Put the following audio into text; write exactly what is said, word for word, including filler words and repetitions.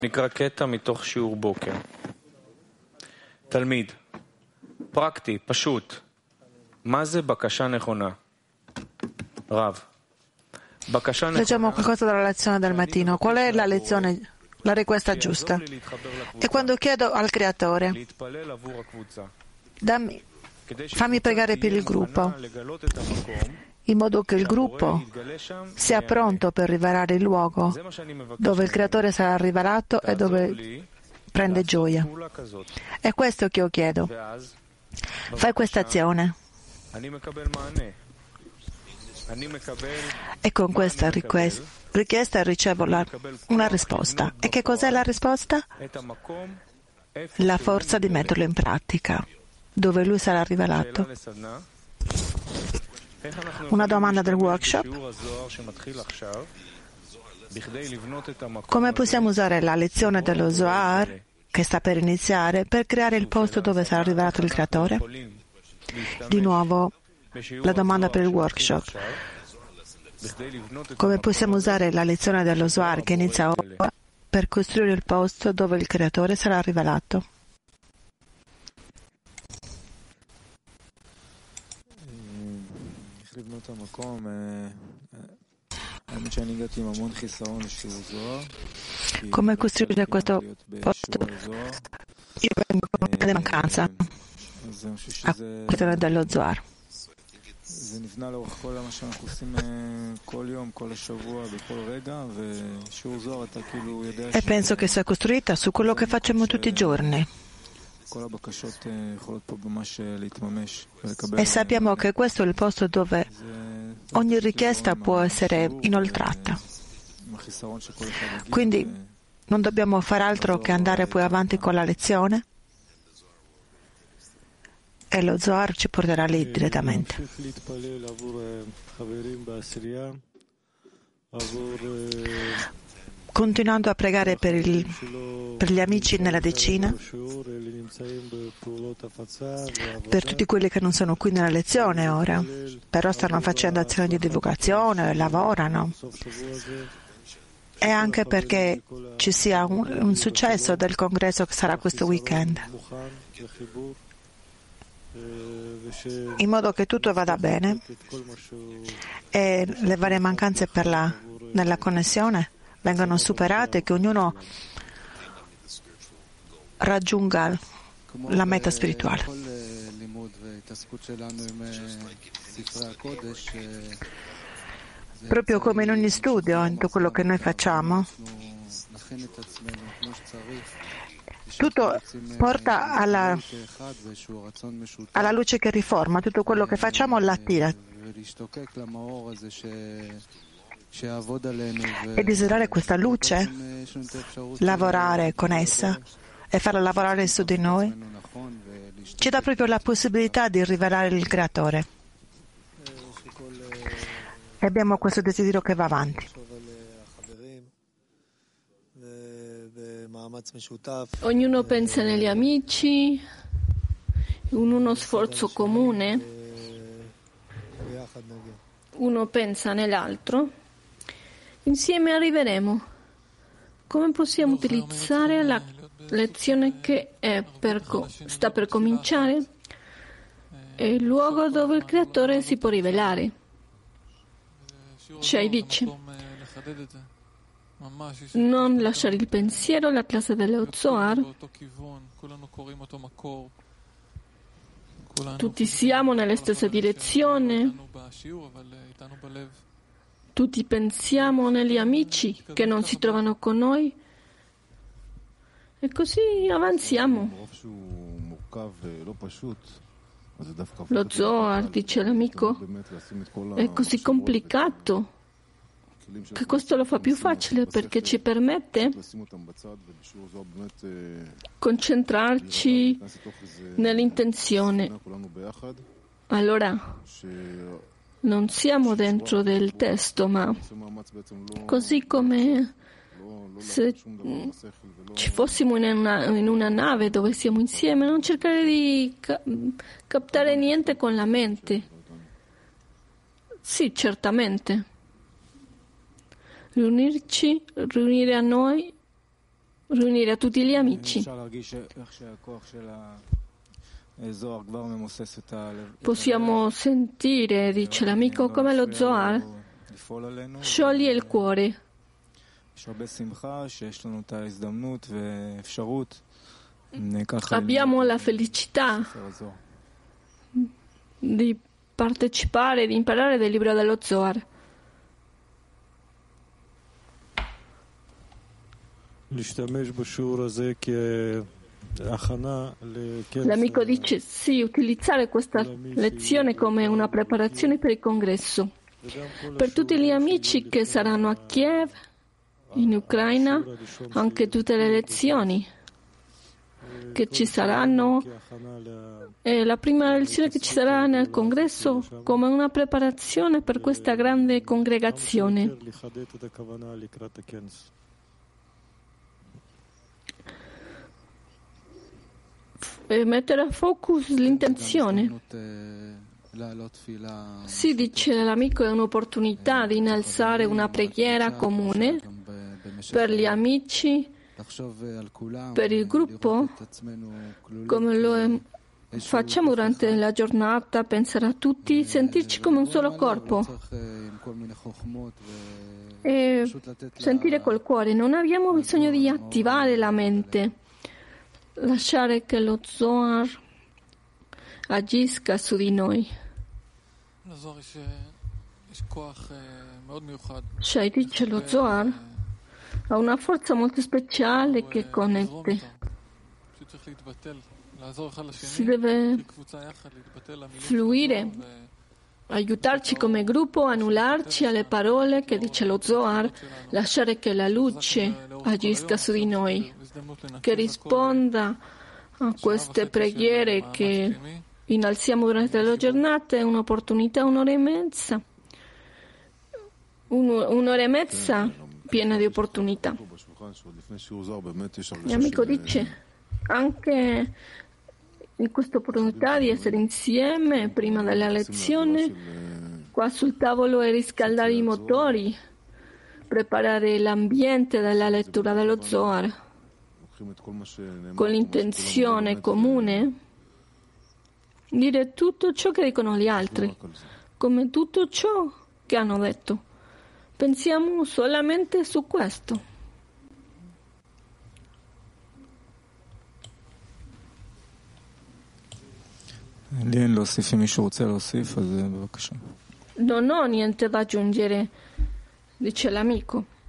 נקרא קטע מתוך שיעור בוקר. תלמיד, פרקטי, פשוט. מה זה בקשה נכונה? רב. בקשה נכונה. Leggiamo qualcosa dalla lezione del mattino. Qual è la lezione, la richiesta giusta? E quando chiedo al Creatore, dammi, fammi pregare per il gruppo, in modo che il gruppo sia pronto per rivelare il luogo dove il Creatore sarà rivelato e dove prende gioia. È questo che io chiedo. Fai questa azione. E con questa richiesta ricevo la, una risposta. E che cos'è la risposta? La forza di metterlo in pratica, dove lui sarà rivelato. Una domanda del workshop. Come possiamo usare la lezione dello Zohar, che sta per iniziare, per creare il posto dove sarà rivelato il Creatore? Di nuovo, la domanda per il workshop. Come possiamo usare la lezione dello Zohar, che inizia ora, per costruire il posto dove il Creatore sarà rivelato? Come costruire questo posto? Io vengo con una mancanza a questione dello Zohar. E penso che sia costruita su quello che facciamo tutti i giorni. E sappiamo che questo è il posto dove ogni richiesta può essere inoltrata. Quindi non dobbiamo fare altro che andare poi avanti con la lezione e lo Zohar ci porterà lì direttamente. Continuando a pregare per, il, per gli amici nella decina, per tutti quelli che non sono qui nella lezione ora, però stanno facendo azioni di divulgazione, lavorano, e anche perché ci sia un, un successo del congresso che sarà questo weekend, in modo che tutto vada bene e le varie mancanze per la, nella connessione vengano superate e che ognuno raggiunga la meta spirituale. Proprio come in ogni studio, in tutto quello che noi facciamo, tutto porta alla, alla luce che riforma, tutto quello che facciamo l'attira. E desiderare questa luce, lavorare con essa e farla lavorare su di noi, ci dà proprio la possibilità di rivelare il Creatore. E abbiamo questo desiderio che va avanti. Ognuno pensa negli amici, in uno sforzo comune, uno pensa nell'altro. Insieme arriveremo. Come possiamo utilizzare la lezione che è per co- sta per cominciare? È il luogo dove il Creatore si può rivelare. Shai dice: non lasciare il pensiero, la classe dello Zohar. Tutti siamo nella stessa direzione. Tutti pensiamo negli amici che non si trovano con noi e così avanziamo. Lo Zohar, dice l'amico, è così complicato che questo lo fa più facile perché ci permette concentrarci nell'intenzione. Allora, non siamo dentro del testo, ma così come se ci fossimo in una, in una nave dove siamo insieme, non cercare di ca- captare niente con la mente. Sì, certamente. Riunirci, riunire a noi riunire tutti gli amici. Possiamo sentire, dice l'amico, come lo Zohar scioglie il cuore. Abbiamo la felicità di partecipare, di imparare del libro dello Zohar. L'amico dice sì, utilizzare questa lezione come una preparazione per il congresso. Per tutti gli amici che saranno a Kiev, in Ucraina, anche tutte le lezioni che ci saranno, e la prima lezione che ci sarà nel congresso come una preparazione per questa grande congregazione. E mettere a focus l'intenzione. Si dice l'amico è un'opportunità di innalzare una preghiera comune per gli amici, per il gruppo, come lo facciamo durante la giornata, pensare a tutti, sentirci come un solo corpo e sentire col cuore. Non abbiamo bisogno di attivare la mente, lasciare che lo Zohar agisca su di noi. Shai dice lo Zohar ha una forza molto speciale che connette. Si deve fluire, aiutarci come gruppo, annullarci alle parole che dice lo Zohar, lasciare che la luce agisca su di noi, che risponda a queste preghiere che innalziamo durante la giornata. È un'opportunità, un'ora e mezza, un'ora e mezza piena di opportunità. L'amico dice anche in questa opportunità di essere insieme prima della lezione, qua sul tavolo, e riscaldare i motori, preparare l'ambiente della lettura dello Zohar con l'intenzione comune, dire tutto ciò che dicono gli altri, come tutto ciò che hanno detto. Pensiamo solamente su questo. Non ho niente da aggiungere, dice l'amico.